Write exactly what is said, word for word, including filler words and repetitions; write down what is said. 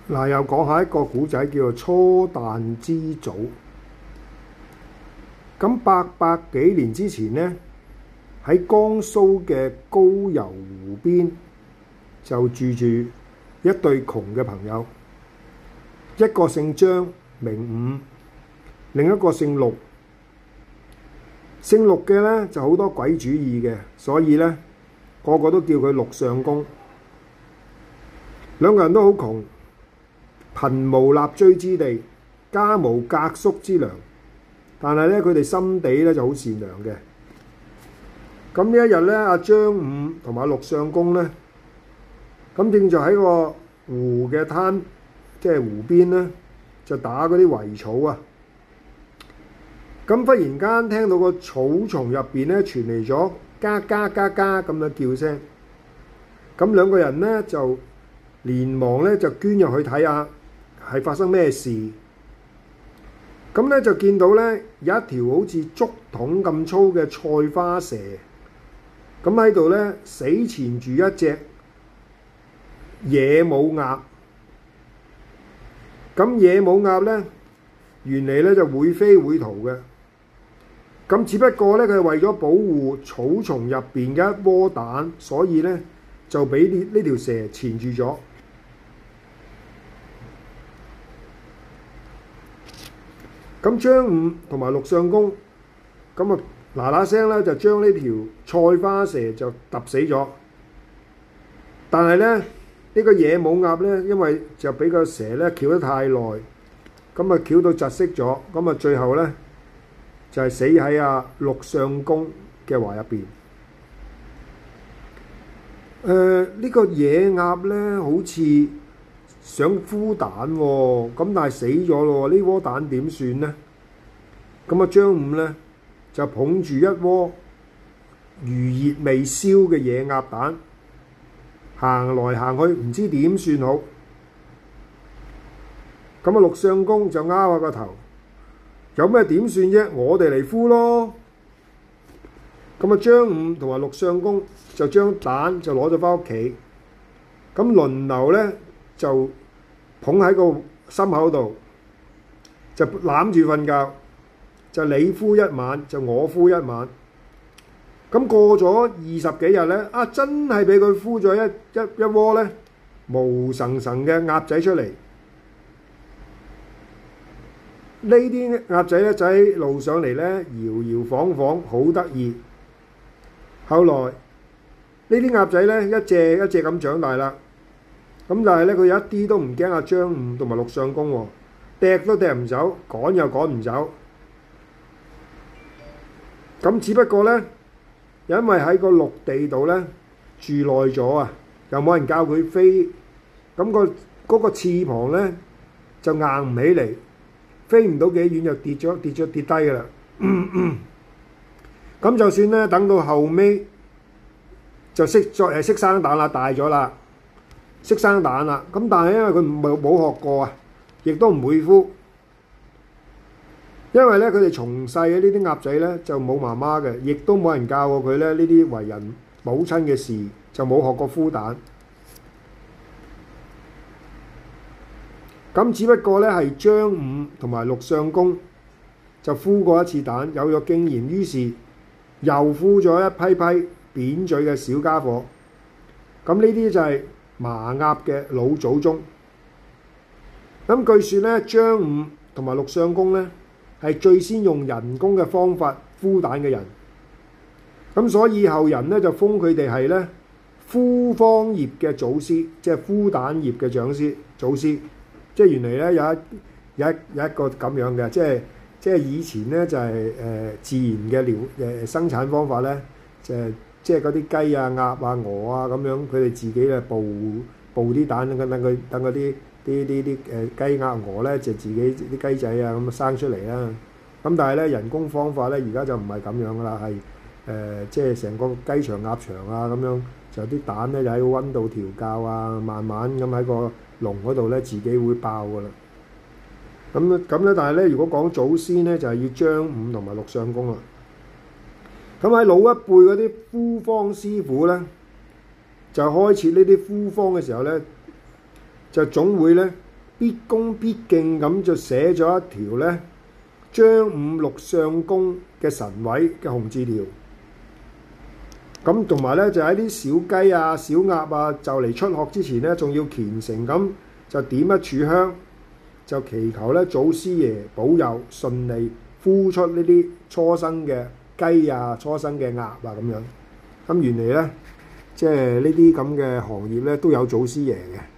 嗱，又講下一個古仔，叫做初誕之祖。咁八百幾年之前呢，喺江蘇嘅高郵湖邊就住住一對窮嘅朋友，一個姓張名伍，另一個姓陸。姓陸嘅咧就好多鬼主意嘅，所以咧個個都叫佢陸相公。兩個人都好窮，貧無立錐之地，家無隔宿之糧，但係咧佢哋心地咧就好善良嘅。咁呢一日咧，阿張伍同埋陸相公咧，咁正就喺個湖嘅灘，即係湖邊咧，就打嗰啲葦草啊。咁忽然間聽到個草叢入邊咧傳嚟咗嘎嘎嘎嘎咁嘅叫聲，咁兩個人咧就連忙咧就捐入去睇下係發生咩事。咁咧就見到咧有一條好似竹筒咁粗嘅菜花蛇，咁喺度咧死纏住一隻野母鴨。咁野母鴨咧原嚟咧就會飛會逃嘅。咁只不過咧，佢係為咗保護草叢入邊嘅一窩蛋，所以咧就俾呢呢條蛇纏住咗。咁張伍同埋陸相公咁啊嗱嗱聲咧就將呢條菜花蛇就揼死咗。但係咧呢、呢個野母鴨咧，因為就俾個蛇咧翹得太耐，咁啊翹到窒息咗，咁啊最後咧就係死喺阿陸相公嘅懷入邊。誒、呃、呢、呢個野鴨咧，好似想孵蛋喎、哦，咁但係死咗咯喎，呢窩蛋點算呢？咁啊張伍咧就捧住一窩餘熱未燒嘅野鴨蛋，行來行去唔知點算好。咁啊陸相公就拗下個頭。有咩點算啫？我哋嚟孵咯。咁啊，張伍同埋陸相公就將蛋就攞咗翻屋企，咁輪流咧就捧喺個心口度，就攬住瞓覺，就你孵一晚，就我孵一晚。咁過咗二十幾日咧，啊真係俾佢孵咗一一一窩咧毛神神嘅鴨仔出嚟。呢啲鴨仔咧就喺路上嚟咧搖搖晃晃，好得意。後來呢啲鴨仔咧一隻一隻咁長大啦，咁但係咧佢一啲都唔驚阿張伍同埋陸相公喎，掟都掟唔走，趕又趕唔走。咁只不過咧，因為喺個陸地度咧住耐咗啊，又冇人教佢飛，咁個嗰個翅膀咧就硬唔起嚟。飛唔到幾遠就跌咗跌咗跌低㗎啦。咁就算咧，等到後尾就識再誒識生蛋啦，大咗啦，識生蛋啦。咁但係因為佢冇冇學過啊，亦都唔會孵。因為咧佢哋從細嘅呢啲鴨仔咧就冇媽媽嘅，亦都冇人教過佢咧呢啲為人母親嘅事，就冇學過孵蛋。咁只不過咧係張伍同埋陸相公就孵過一次蛋，有咗經驗，於是又孵咗一批批扁嘴嘅小家伙。咁呢啲就係麻鴨嘅老祖宗。咁據說咧，張伍同埋陸相公咧係最先用人工嘅方法孵蛋嘅人。咁所以後人咧就封佢哋係咧孵方業嘅祖師，即係孵蛋業嘅長師祖師。即係原嚟咧有一有一有一個咁樣嘅，即係即係以前咧就係、是、誒、呃、自然嘅療誒生產方法咧，就係即係嗰啲雞啊、鴨啊、鵝啊咁樣，佢哋自己咧哺哺啲蛋，等等佢等嗰啲啲啲啲誒雞鴨鵝咧，就自己啲雞仔啊咁生出嚟啦。咁但係咧人工方法咧，而家就唔係咁樣噶啦，係誒、呃、即係成個雞場鴨場啊咁樣，就啲蛋咧就喺個溫度調校啊，慢慢咁喺個籠嗰度咧自己會爆噶啦。咁咁咧，但係咧，如果講祖先咧，就係、是、要張伍同埋陸相公啦。咁喺老一輩嗰啲孵方師傅咧，就開設呢啲孵方嘅時候咧，就總會咧必恭必敬咁就寫咗一條咧張五六相公嘅神位嘅紅字條。咁同埋咧就喺啲小雞啊、小鴨啊就嚟出殼之前咧，仲要虔誠咁就點一炷香，就祈求咧祖師爺保佑順利孵出呢啲初生嘅雞啊、初生嘅鴨啊咁樣。咁原嚟咧，即係呢啲咁嘅行業咧都有祖師爺嘅。